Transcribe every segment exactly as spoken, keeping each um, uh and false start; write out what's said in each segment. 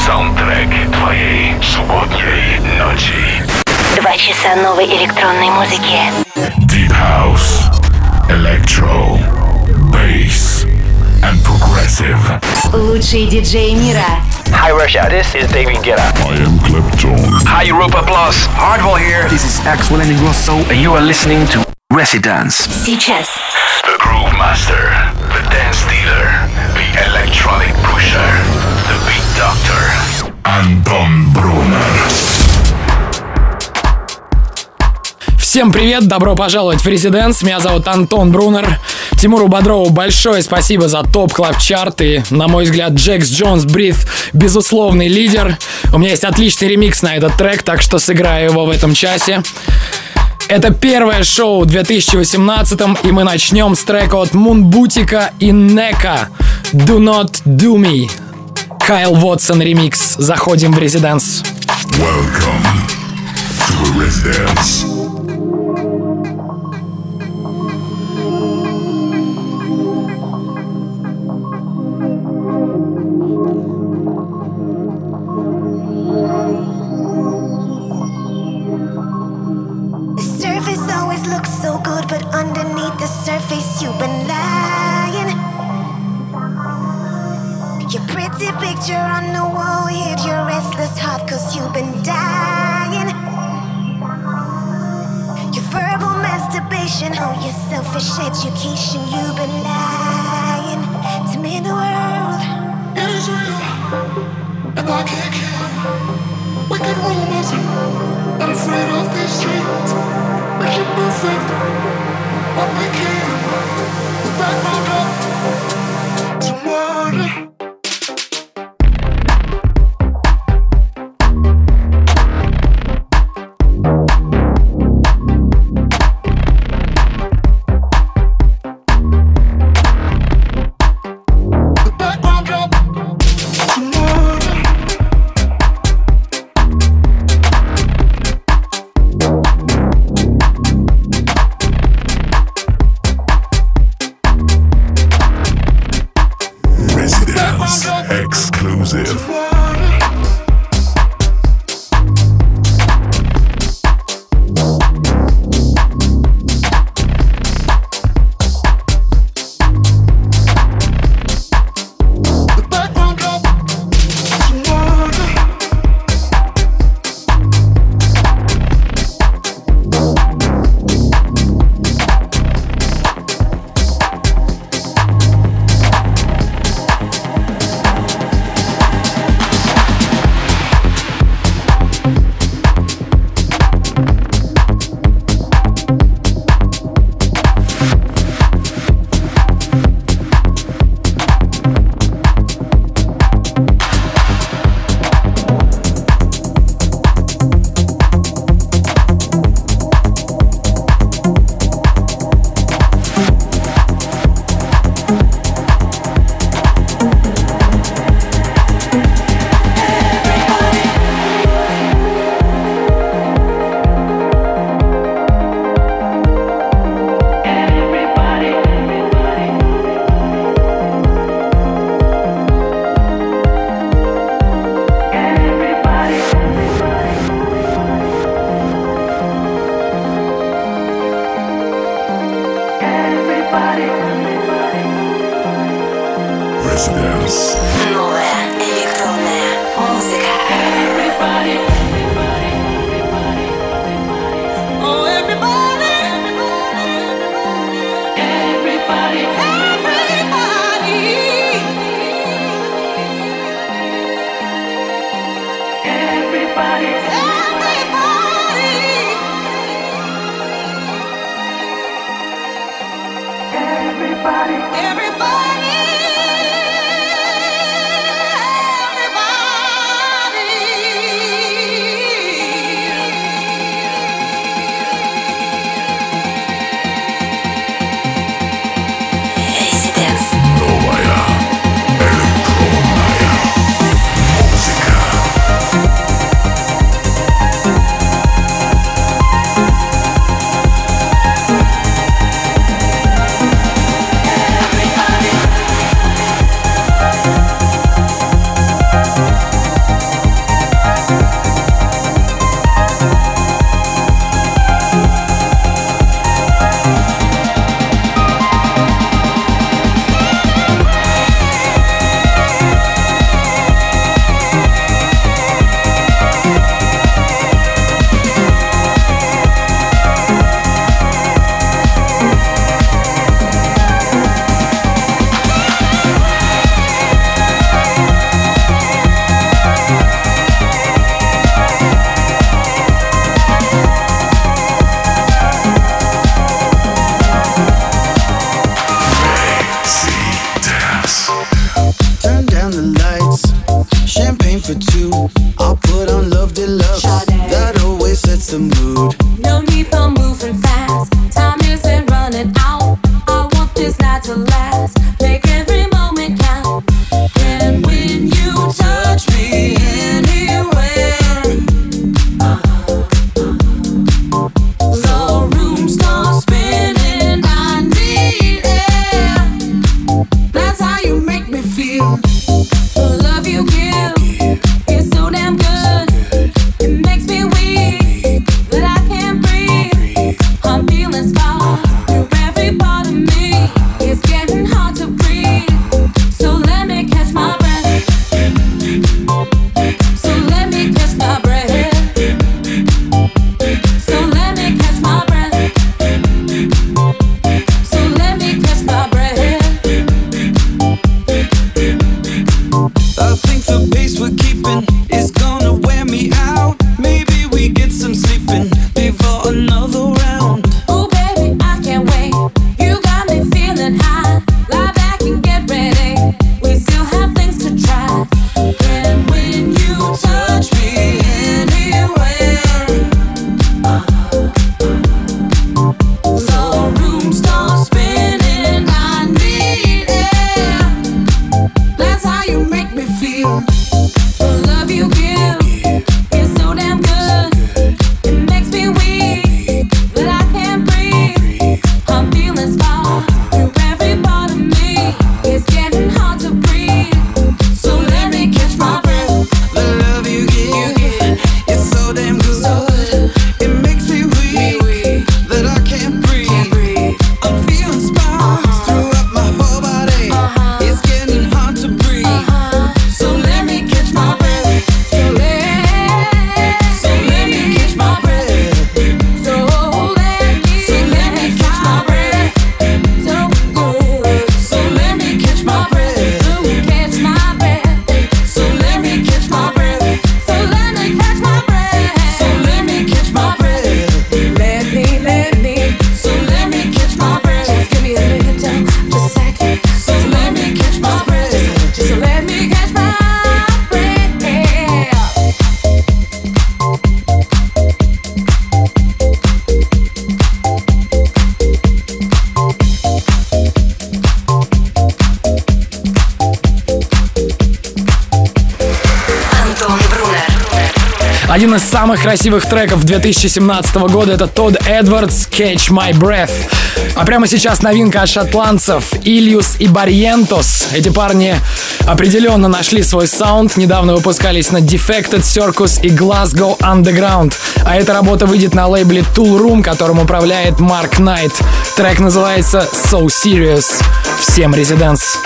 Саундтрек твоей субботней ночи. Два часа новой электронной музыки. Deep House, Electro, Bass and Progressive. Лучшие диджеи мира. Hi Russia, this is David Guetta. I am Clapton. Hi Europa Plus. Hardwell here. This is Axel and Ingrosso, and you are listening to Residence. Сейчас. The Groove Master, the Dance Dealer, the Electronic Pusher, the Beat Doctor. Антон Брунер. Всем привет, добро пожаловать в Residence. Меня зовут Антон Брунер. Тимуру Бодрову большое спасибо за топ клаб чарт. И, на мой взгляд, Джекс Джонс Breathe безусловный лидер. У меня есть отличный ремикс на этот трек, так что сыграю его в этом часе. Это первое шоу в две тысячи восемнадцатом, и мы начнем с трека от Мунбутика и Нека Do Not Do Me. Кайл Вотсон ремикс. Заходим в Residence. Welcome to Residence. Picture on the wall, hid your restless heart, cause you've been dying. Your verbal masturbation, oh, your selfish education, you've been lying to me in the world. It is real, and I can't kill. Wicked rumors, not afraid of these streets. Make it perfect, but we can't. The background up to murder. Everybody, everybody. Один из самых красивых треков две тысячи семнадцатого года — это Тодд Эдвардс «Catch My Breath». А прямо сейчас новинка от шотландцев Ильюс и Барьентос. Эти парни определенно нашли свой саунд. Недавно выпускались на Defected Circus и Glasgow Underground. А эта работа выйдет на лейбле Tool Room, которым управляет Марк Найт. Трек называется So Serious. Всем резиденс.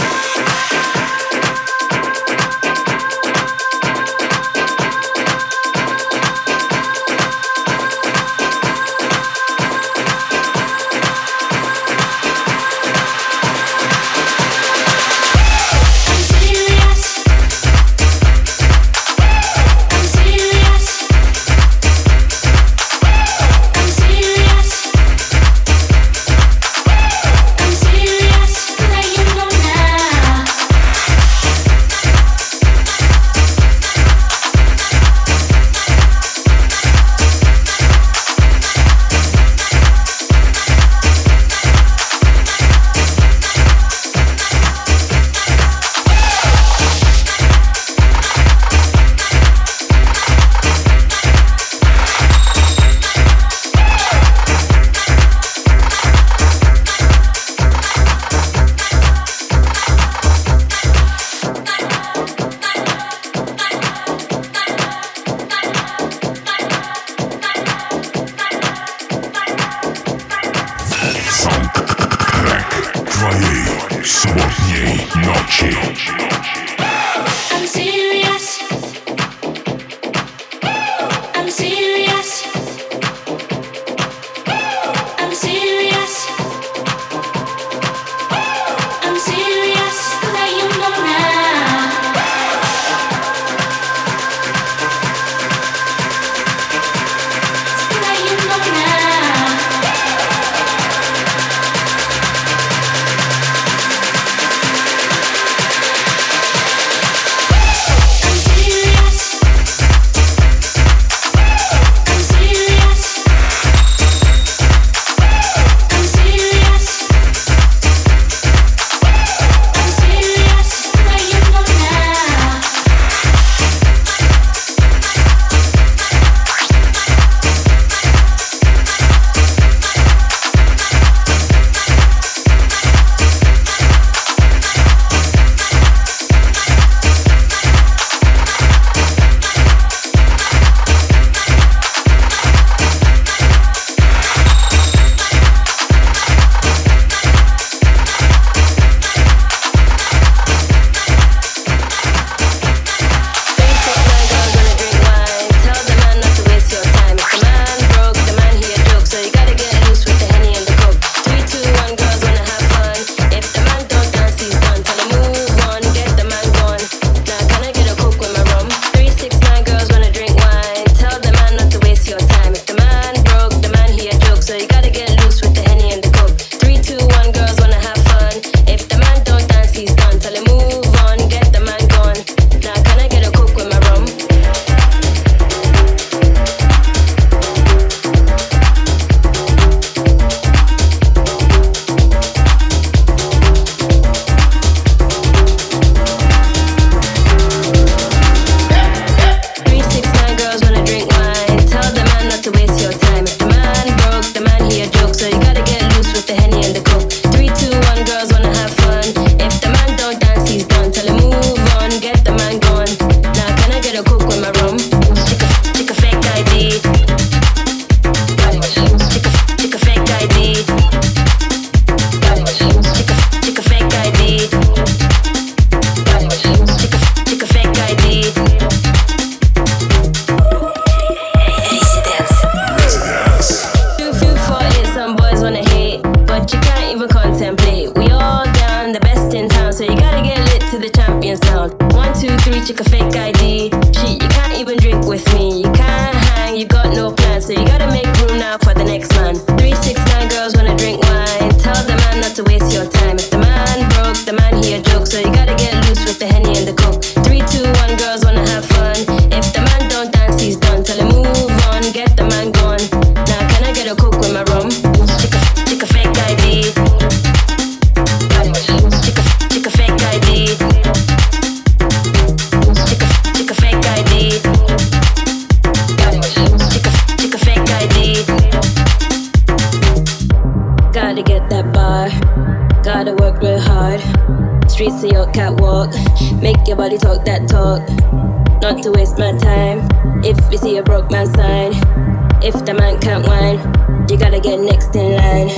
catwalk, catwalk. Make your body talk that talk. Not to waste my time. If you see a broke man sign, if the man can't whine, you gotta get next in line.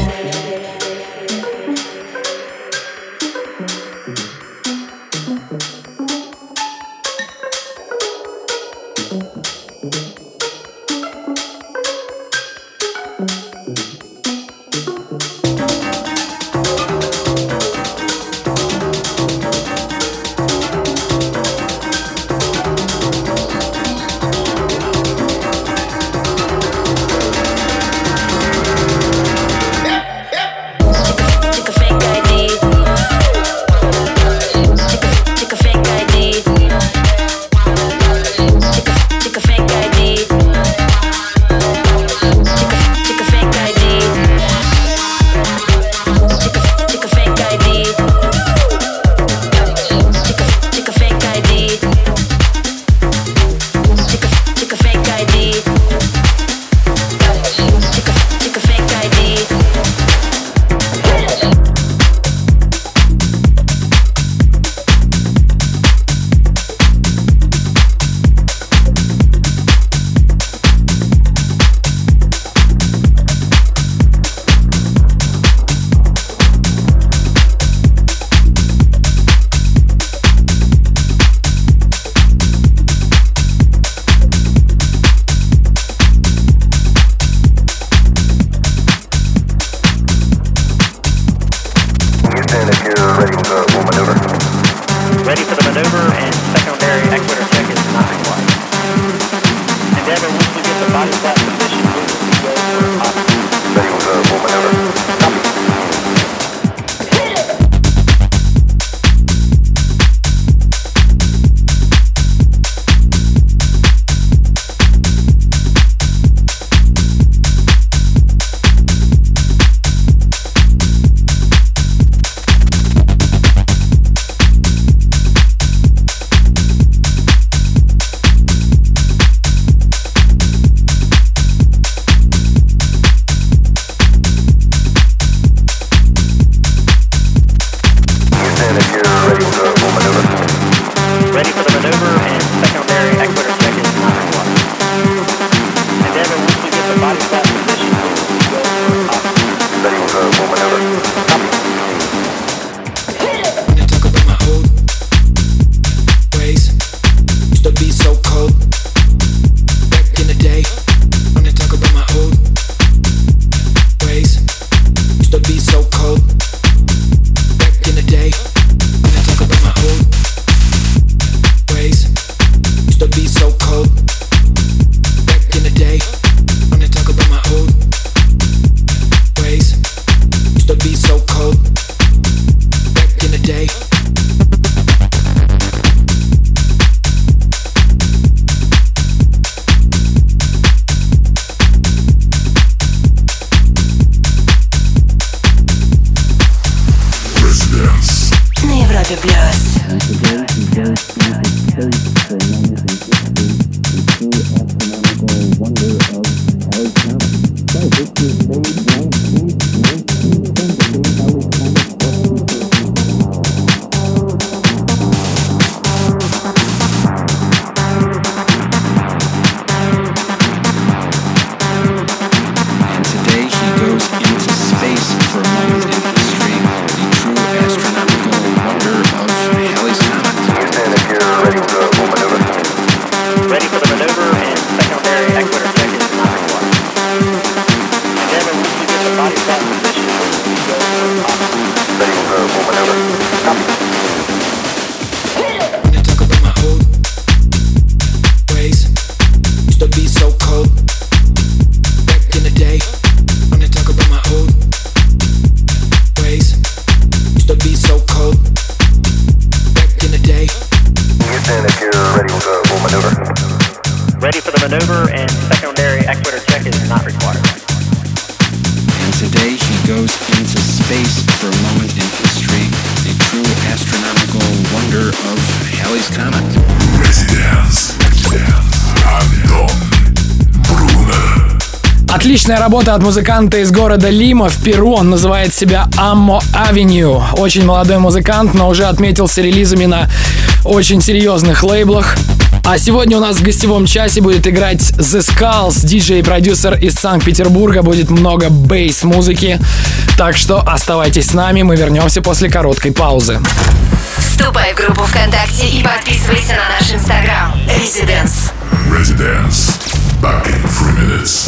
Отличная работа от музыканта из города Лима в Перу. Он называет себя Ammo Avenue. Очень молодой музыкант, но уже отметился релизами на очень серьезных лейблах. А сегодня у нас в гостевом часе будет играть The Skulls, диджей и продюсер из Санкт-Петербурга. Будет много бейс-музыки. Так что оставайтесь с нами, мы вернемся после короткой паузы. Вступай в группу ВКонтакте и подписывайся на наш Инстаграм. Residence. Residence. Back in three minutes.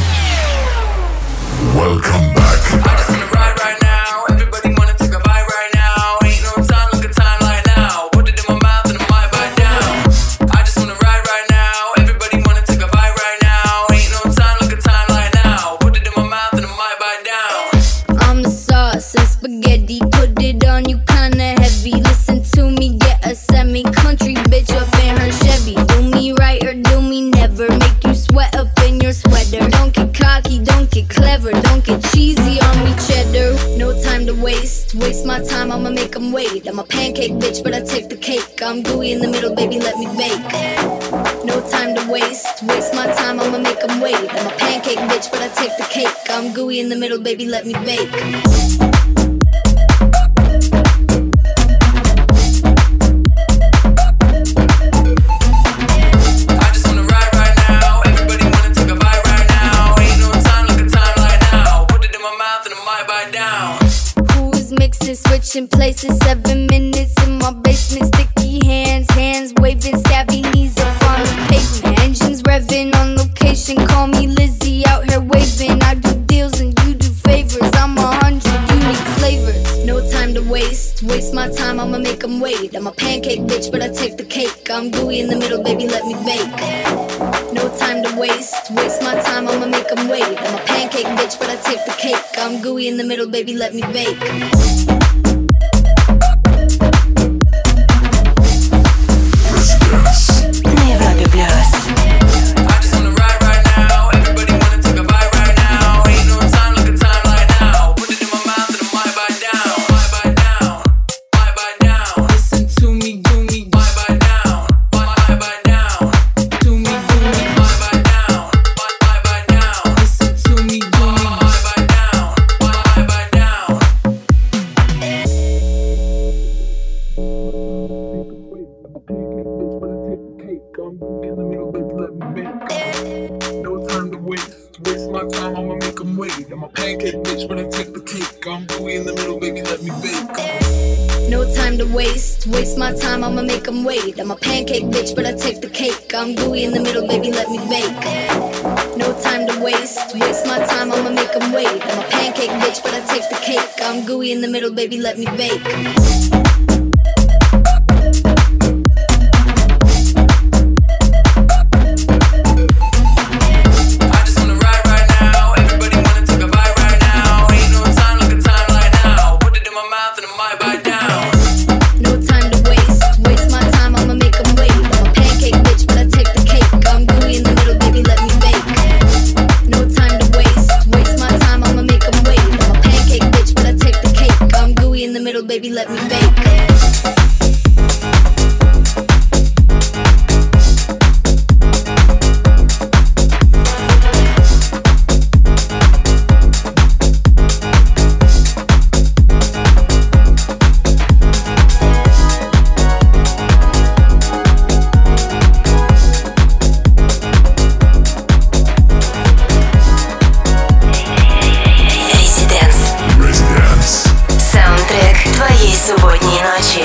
Welcome back. I just wanna ride right now. Everybody wanna take a bite right now. Ain't no time, look at time right now. Put it in my mouth and I might bite down. I just wanna ride right now. Everybody wanna take a bite right now. Ain't no time, look at time right now. Put it in my mouth and I might bite down. I'm the sauce and spaghetti. Put it on you kinda heavy. Listen to me, get a semi-country bitch up in her Chevy. Do me right or do me never. Make you sweat up in your sweater. Don't get cocky, don't get clever. Don't get cheesy on me, cheddar. No time to waste. Waste my time, I'ma make them wait. I'm a pancake bitch, but I take the cake. I'm gooey in the middle, baby, let me bake. No time to waste. Waste my time, I'ma make them wait. I'm a pancake bitch, but I take the cake. I'm gooey in the middle, baby, let me bake. Switching places, seven minutes in my basement. Sticky hands, hands waving, stabby knees up on the pavement. Engines revving on location, call me Lizzie out here waving. I do deals and you do favors, I'm a hundred unique flavors. No time to waste, waste my time, I'ma make them wait. I'm a pancake bitch, but I take the cake. I'm gooey in the middle, baby, let me bake. No time to waste, waste my time, I'ma make them wait. I'm a pancake bitch, but I take the cake. I'm gooey in the middle, baby, let me bake. I'ma make them wait. I'm a pancake bitch, but I take the cake. I'm gooey in the middle, baby, let me bake. No time to waste. Waste my time, I'ma make them wait. I'm a pancake bitch, but I take the cake. I'm gooey in the middle, baby, let me bake. Baby, let me bake. Субботней ночи.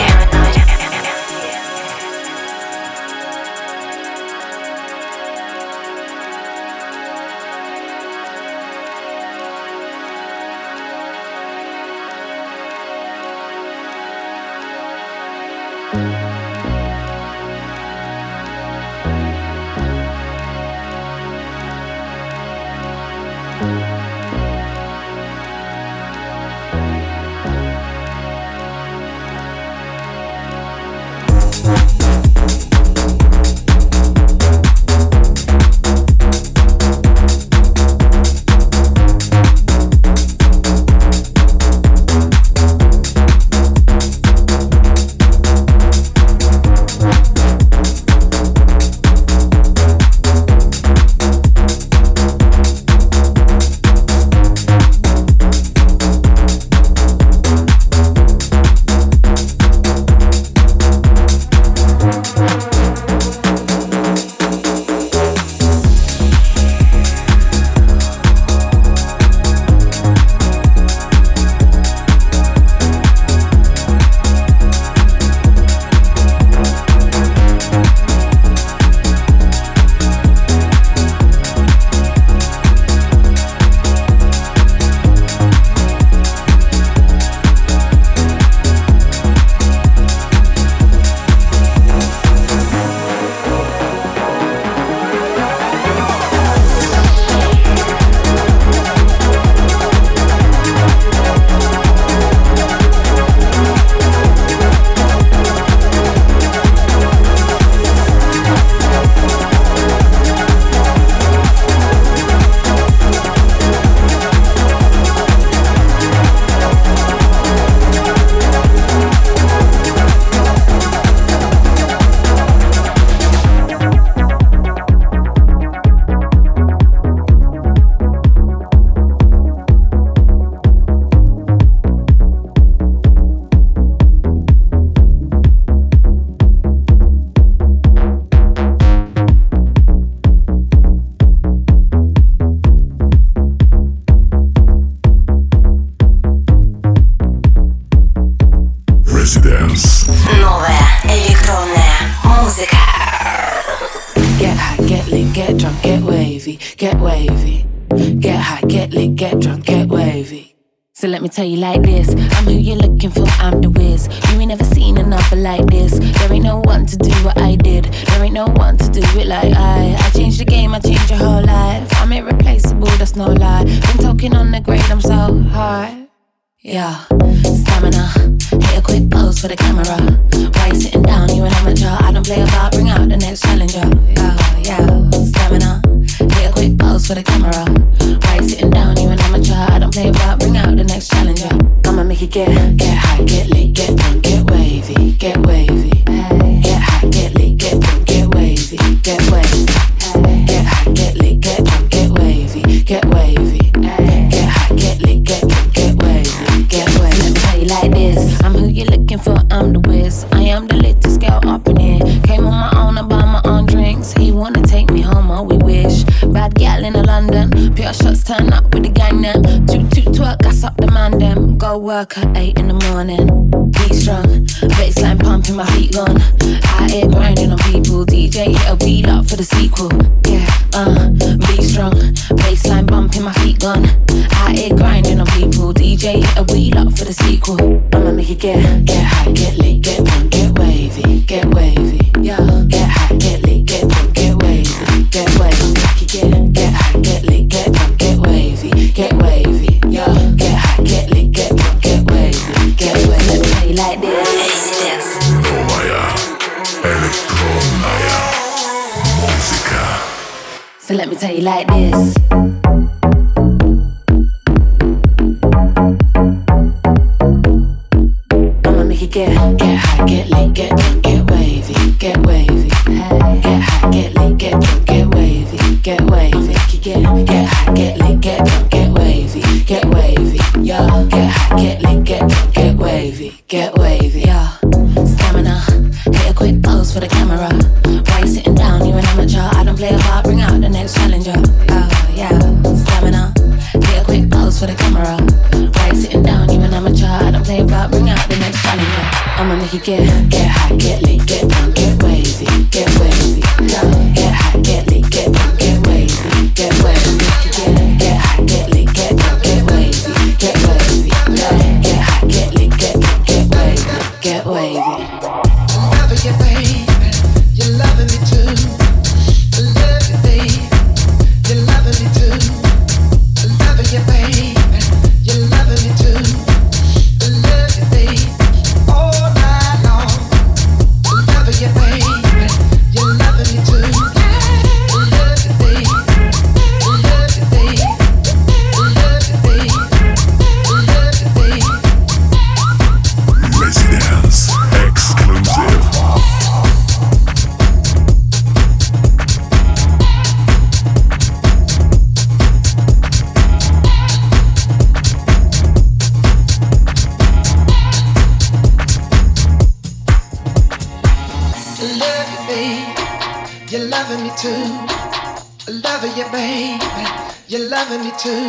lit, get drunk, get wavy. So let me tell you like this, I'm who you're looking for, I'm the whiz. You ain't never seen another like this. There ain't no one to do what I did. There ain't no one to do it like I. I changed the game, I changed your whole life. I'm irreplaceable, that's no lie. Been talking on the grade, I'm so high. Yeah, stamina, hit a quick pose for the camera. Why you sitting down, you an amateur? I don't play about, bring out the next challenger. Yeah, yeah, stamina, hit a quick pose for the camera. Why you sitting down, you an amateur? I don't play about, bring out the next challenger. I'ma make it get, get high, get lit, get drunk, get wavy, get wavy. Get high, get lit, get drunk, get wavy, get wavy. Get high, get lit, get drunk, get wavy, get wavy. Get high, get lit, get drunk, get wavy, get wavy. Let me tell you like this, I'm who you're looking for, I'm the whiz. I am the latest girl up in here. Came on my own, I buy my own drinks. He wanna take me home, oh we wish. Bad gal in London, pure shots turn up with the gang them. Toot toot twerk, gas up the man them. Go work at eight in the morning. Be strong, baseline pumping, my feet gone. Out here grinding on people. D J hit a wheel up for the sequel. Yeah, uh, be strong, baseline bumping, my feet gone. Out here grinding on people. D J hit a wheel up for the sequel. I'ma make it get, get high, get lit, get drunk, get wavy, get wavy. Yeah, get high, get lit, get drunk, get wavy, get wavy. Make it get, get high, get lit, get drunk, get wavy, get wavy. Yeah, get high, get lit, get drunk, get wavy, get wavy. Let me tell you like this. Новая электронная музыка. So let me tell you like this. I'ma make it get, get high, get lit, get drunk, get wavy, get wavy. Get high, get lit, get drunk, get wavy, get wavy. Make it get, get high, get lit, get drunk, get wavy, get wavy. Yeah, get high, get lit, get drunk, get wavy, get wavy. Yeah, stamina, hit a quick pose for the camera. Why you sitting down, you an amateur? I don't play about, bring out the next challenger. Oh yeah, stamina, hit a quick pose for the camera. Why you sitting down, you an amateur? I don't play about, bring out the next challenger. I'ma make you get, get high, get lit, get drunk, get wavy, get wavy. Yeah, get high, get lit, get drunk, get wavy, get wavy. Make you get, get high, get lit, get drunk, get wavy, get wavy. Yeah, get high, get lit, get drunk, get wavy, get wavy. Loving you, baby, you're loving me too. I love you, baby, you're loving me too. I love you, baby, you're loving me too. I love you, baby, all night long. I love you, baby, you're loving me too. I love you, baby, I love you, baby, I love you, baby, I love you, baby. Residence exclusive. I love you, baby, you're loving me too. I love you, baby, you're loving me too.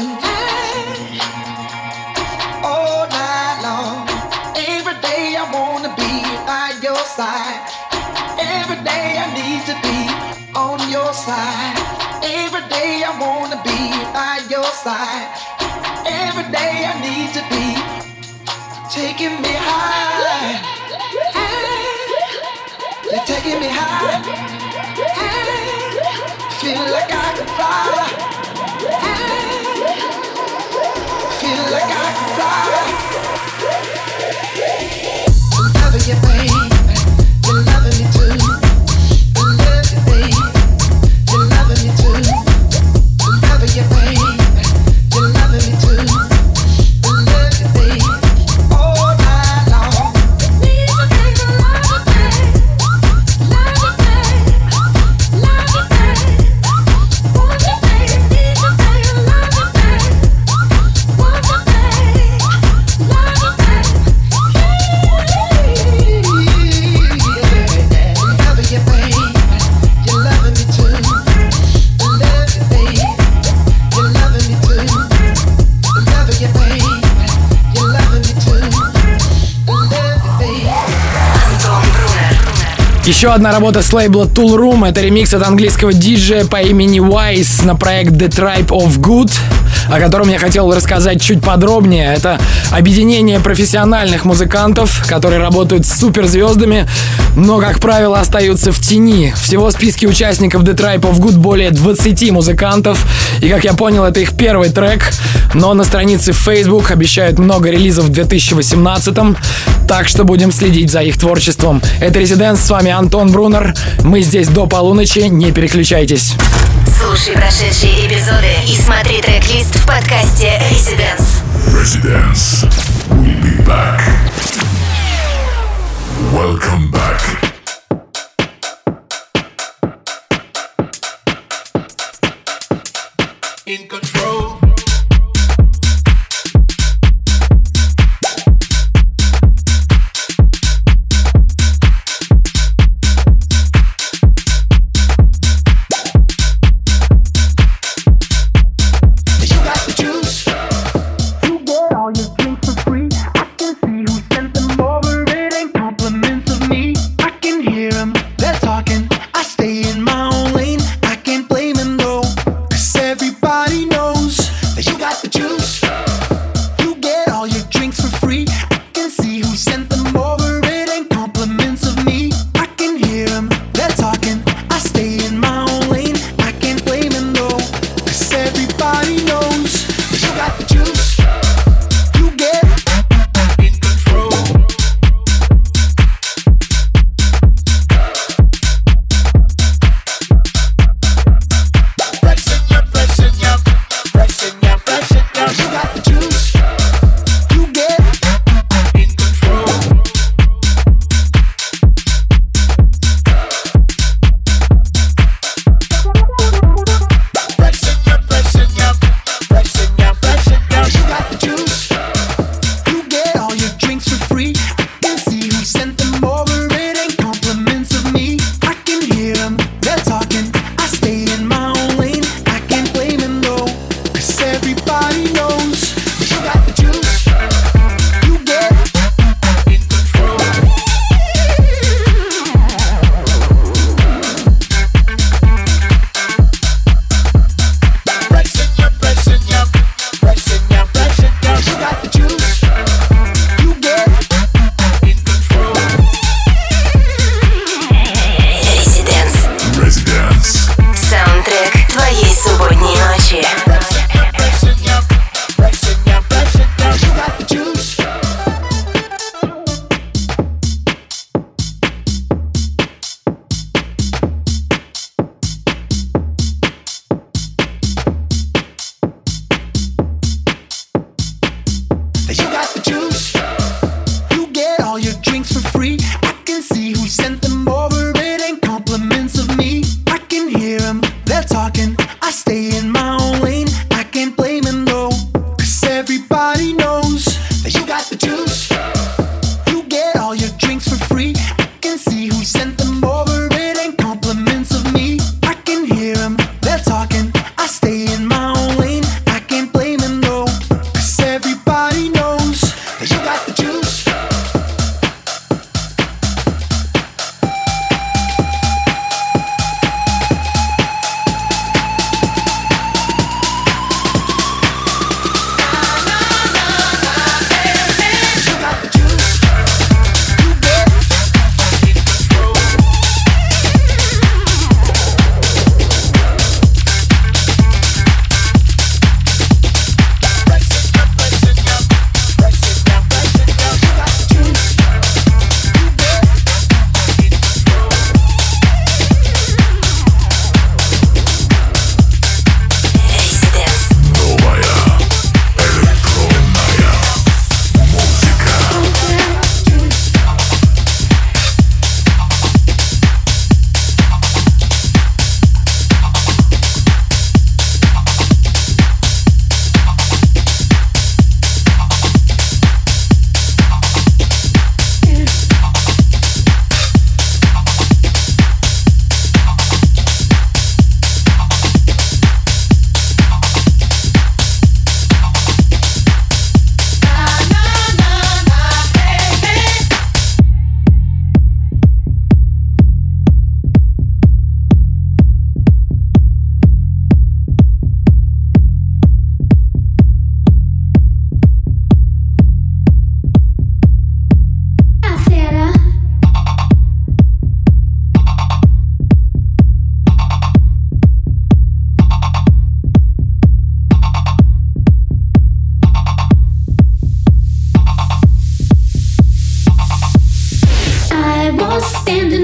All night long, every day I wanna be by your side. Every day I need to be on your side. Every day I wanna be by your side. Every day I need to be taking me high. You're taking me high. Feel like I can fly. Feel like I can fly. I love you, baby. You're loving me too. I love you, baby. You're loving me too. I love you, baby. You're loving me too. I love you, baby. All night long. Need you, baby, love you, baby. Love you, baby. Love you, baby. Want you, baby. Need you, baby. Love you, baby. Want you, baby. Love you, baby. Love you, baby. You're loving me too. I love you, baby. You're loving me too. I love you, baby. You're loving me too. I love you, baby. Антон Брунер. Еще одна работа с лейбла Tool Room — это ремикс от английского диджея по имени Wise на проект The Tribe of Good. о котором я хотел рассказать чуть подробнее. Это объединение профессиональных музыкантов, которые работают с суперзвездами, но, как правило, остаются в тени. Всего в списке участников The Tribe of Good более двадцати музыкантов. И, как я понял, это их первый трек. Но на странице в Facebook обещают много релизов в две тысячи восемнадцатом. Так что будем следить за их творчеством. Это Residence, с вами Антон Брунер. Мы здесь до полуночи, не переключайтесь. Слушай прошедшие эпизоды и смотри трек-лист в подкасте Residence. Residence. We'll be back. Welcome back. In control.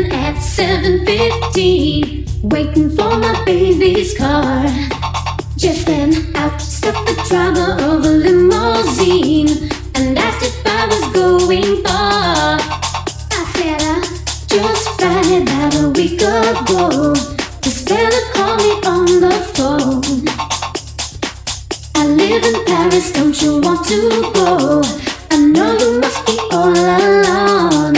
in at seven fifteen, waiting for my baby's car. Just then out stepped the driver of a limousine and asked if I was going far. I said I just fried about a week ago. This fella called me on the phone. I live in Paris, don't you want to go? I know you must be all alone.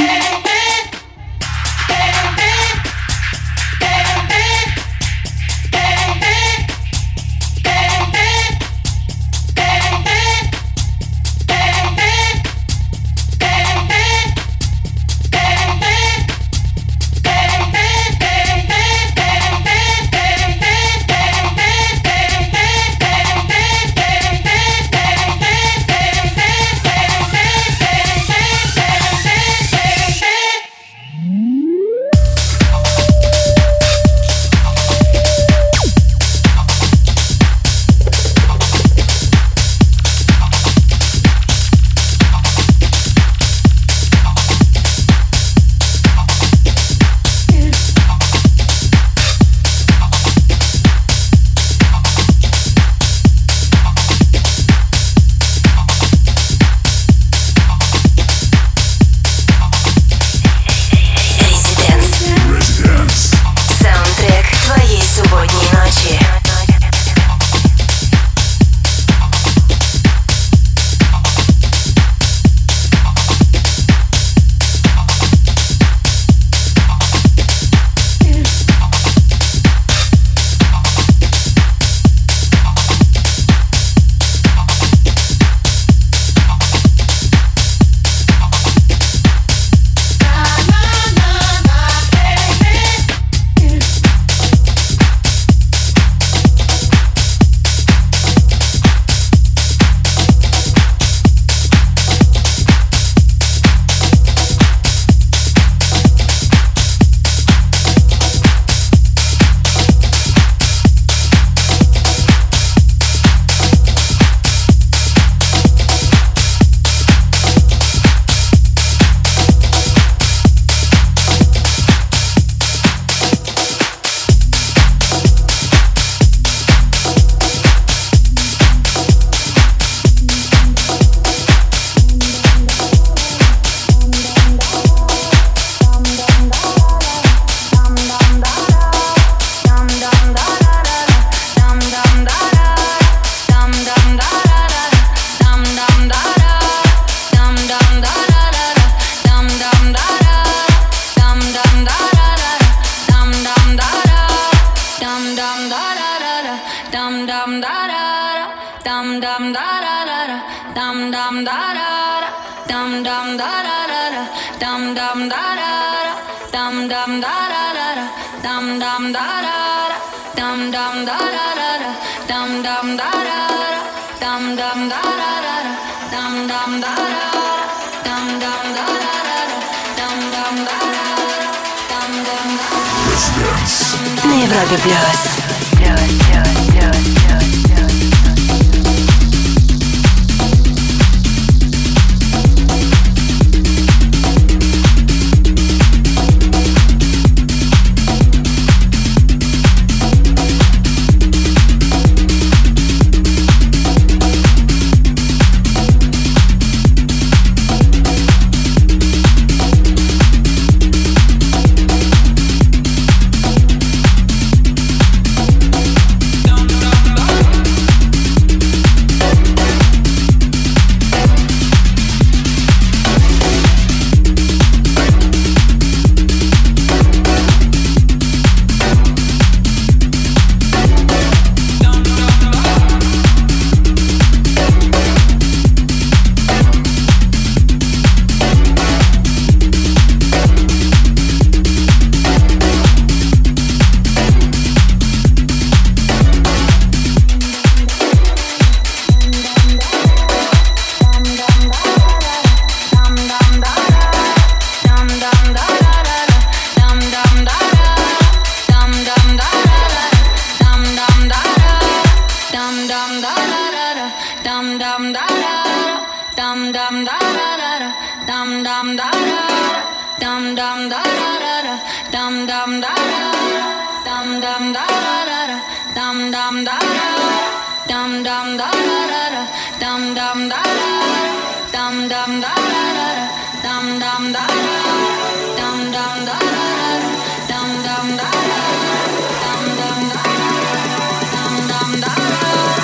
На Европе плюс. Dum dum dum dum da da, dum dum da da da, dum dum da da, dum dum da da, dum dum da da, dum dum da da, dum dum da da, dum dum da da, dum dum da da, dum dum da da, dum dum da da.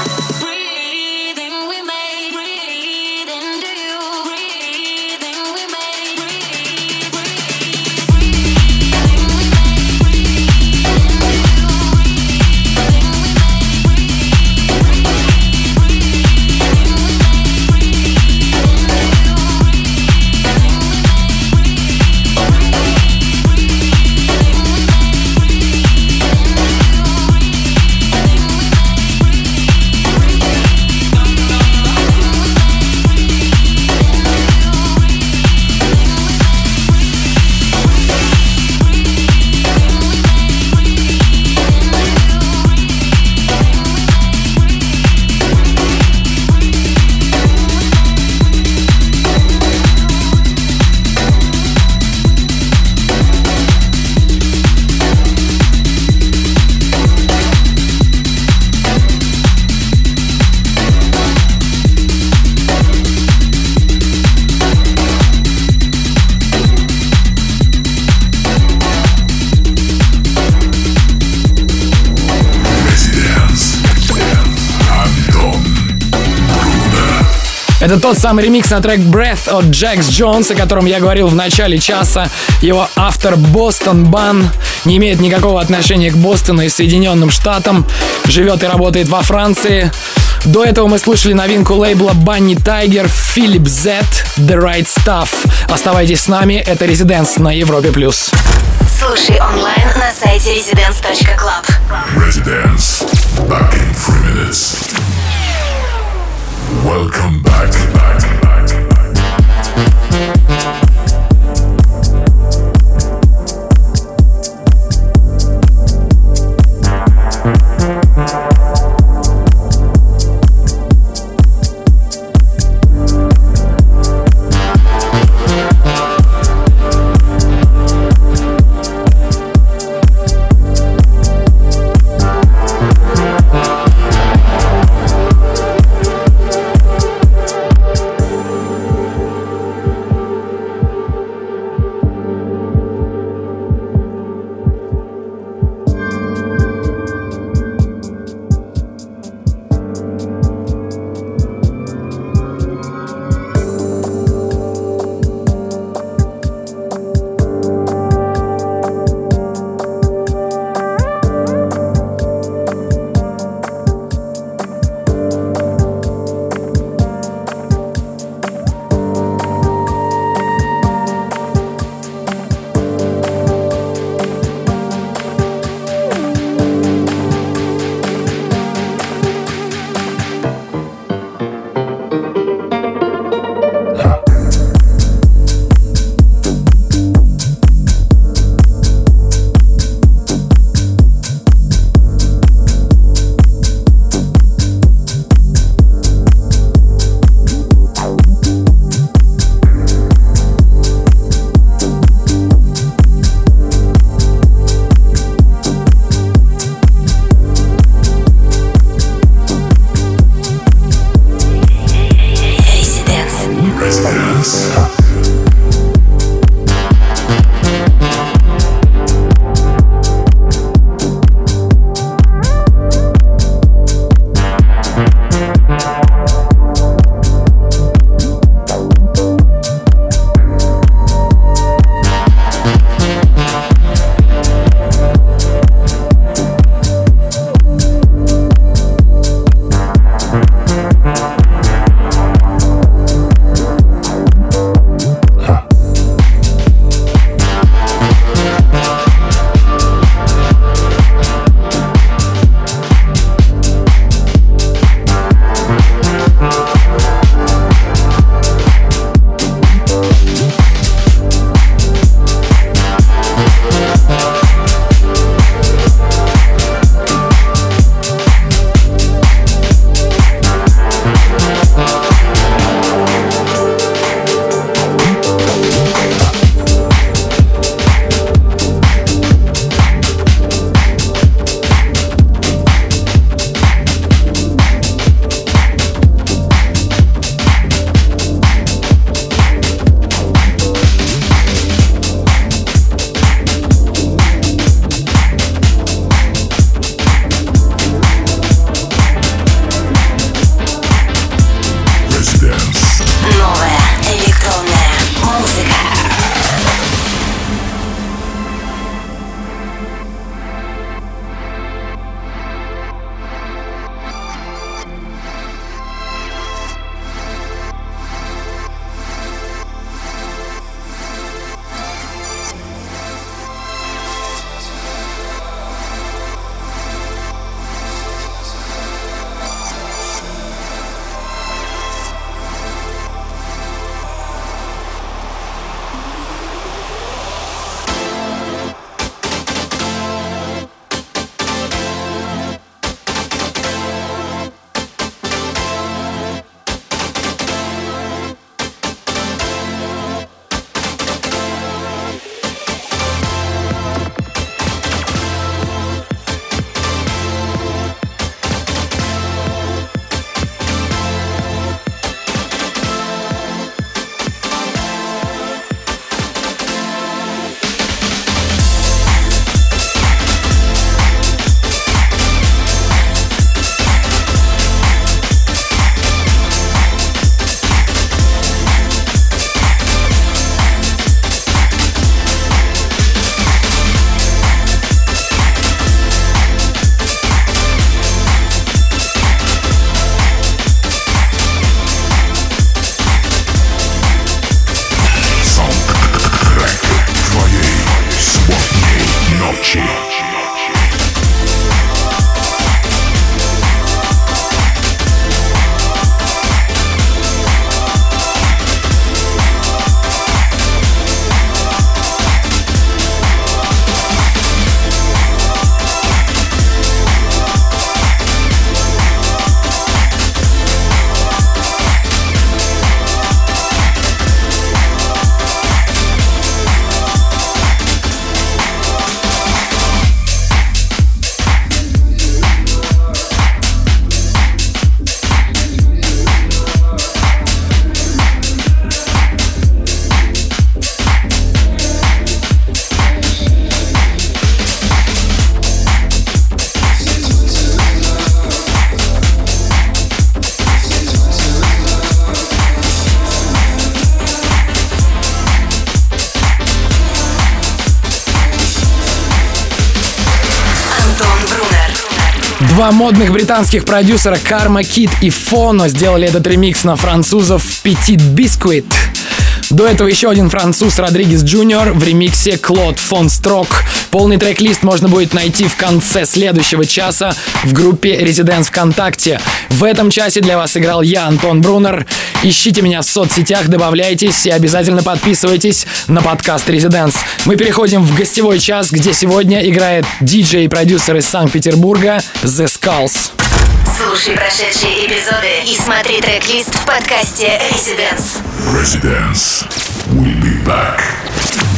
Это тот самый ремикс на трек Breath от Jax Jones, о котором я говорил в начале часа. Его автор Boston Ban не имеет никакого отношения к Бостону и Соединенным Штатам. Живет и работает во Франции. До этого мы слушали новинку лейбла Bunny Tiger Philip Z The Right Stuff. Оставайтесь с нами, это Residence на Европе плюс. Слушай онлайн на сайте residence точка club. Residence. Back in three minutes. Welcome back. back, back, back. ночи. Два модных британских продюсера Karma Kid и Fono сделали этот ремикс на французов Petit Biscuit. До этого еще один француз Родригес Джуниор в ремиксе Клод фон Строк. Полный трек-лист можно будет найти в конце следующего часа в группе Residence ВКонтакте. В этом часе для вас играл я, Антон Брунер. Ищите меня в соцсетях, добавляйтесь и обязательно подписывайтесь на подкаст Residence. Мы переходим в гостевой час, где сегодня играет диджей и продюсер из Санкт-Петербурга The Skulls. Слушай прошедшие эпизоды и смотри трек-лист в подкасте Residence. Residence. We'll be back.